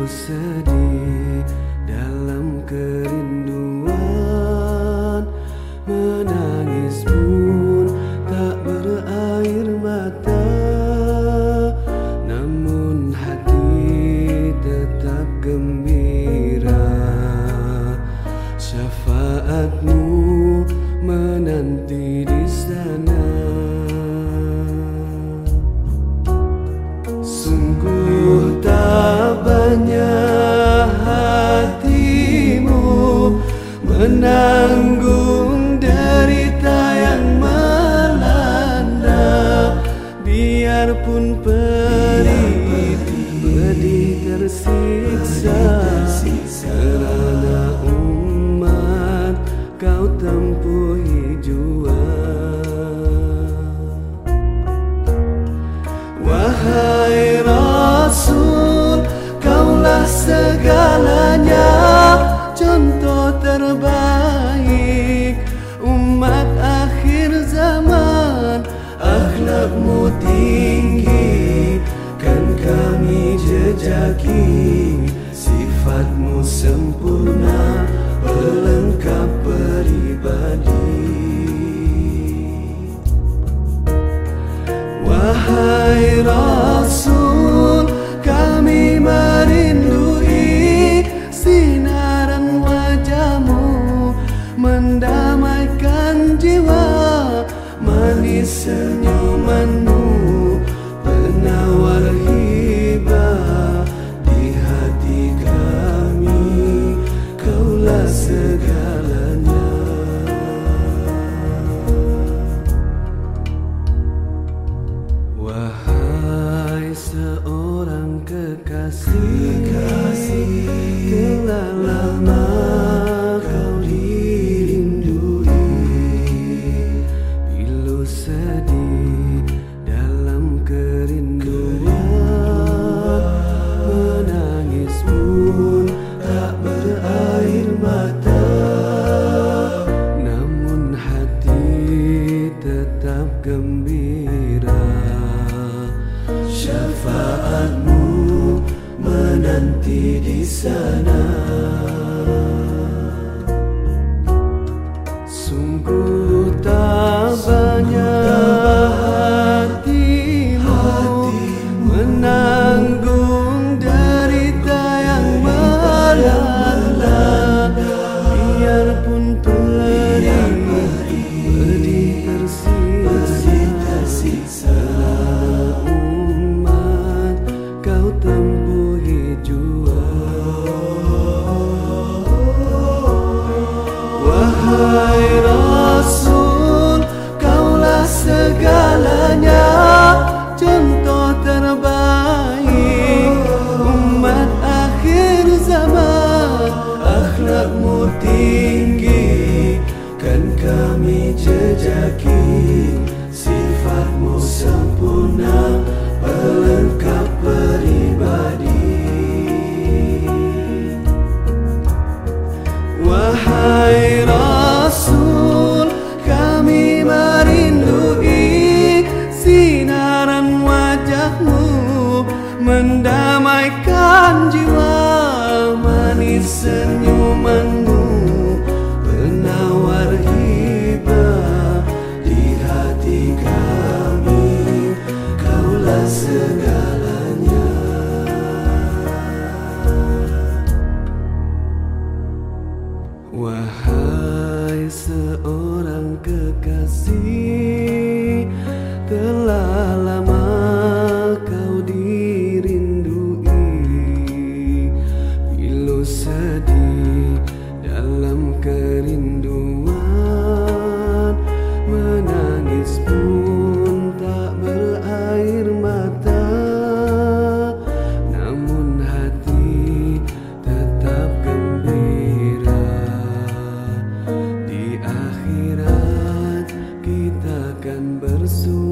sedih dalam kerinduan, menangis pun tak berair mata, namun hati tetap gembira. Syafaatmu menanti di sana. Sungguh tak banyak hatimu menanggung derita yang melanda. Biarpun pedih tersiksa, kerana umat kau tempuhi jua. Wahai Rasul, kaulah segalanya, contoh terbaik umat akhir zaman. Akhlakmu tinggi, kan kami jejaki, sifatmu sempurna, pelengkap pribadi. Wahai Rasul, kami merindui sinaran wajahmu, mendamaikan jiwa. Manis senyumanmu, penawar hibah di hati kami, kaulah segalanya. Wahai seorang kekasih, telah lama kau dirindui. Pilu sedih dalam kerinduan, menangis pun tak berair mata, namun hati tetap gembira. Syafaatmu menanti di sana. Sungguh tak banyak hatimu menanggung derita yang melanda. Biarpun pedih tersiksa, umat kau tempuhi jua. Wahai Rasul, kaulah segalanya, contoh terbaik umat akhir zaman. Akhlakmu tinggi, kan kami jejaki, sifatmu sempurna, pelengkap pribadi. Wahai Rasul, kami merindui sinaran wajahmu, mendamaikan jiwa. Manis senyumanmu, penawar hibah di hati kami, kaulah segalanya. Wahai seorang kekasih, telah lama kau dirindui. Pilu sedih dalam kerinduan, menangis pun tak berair mata, namun hati tetap gembira. Di akhirat kita akan bersua.